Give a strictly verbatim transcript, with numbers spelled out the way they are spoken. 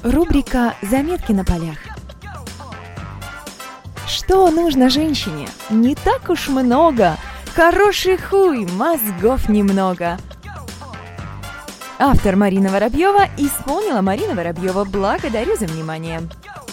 Рубрика «Заметки на полях». Что нужно женщине? Не так уж много. Хороший хуй, мозгов немного. Автор Марина Воробьева. Исполнила Марина Воробьева. Благодарю за внимание.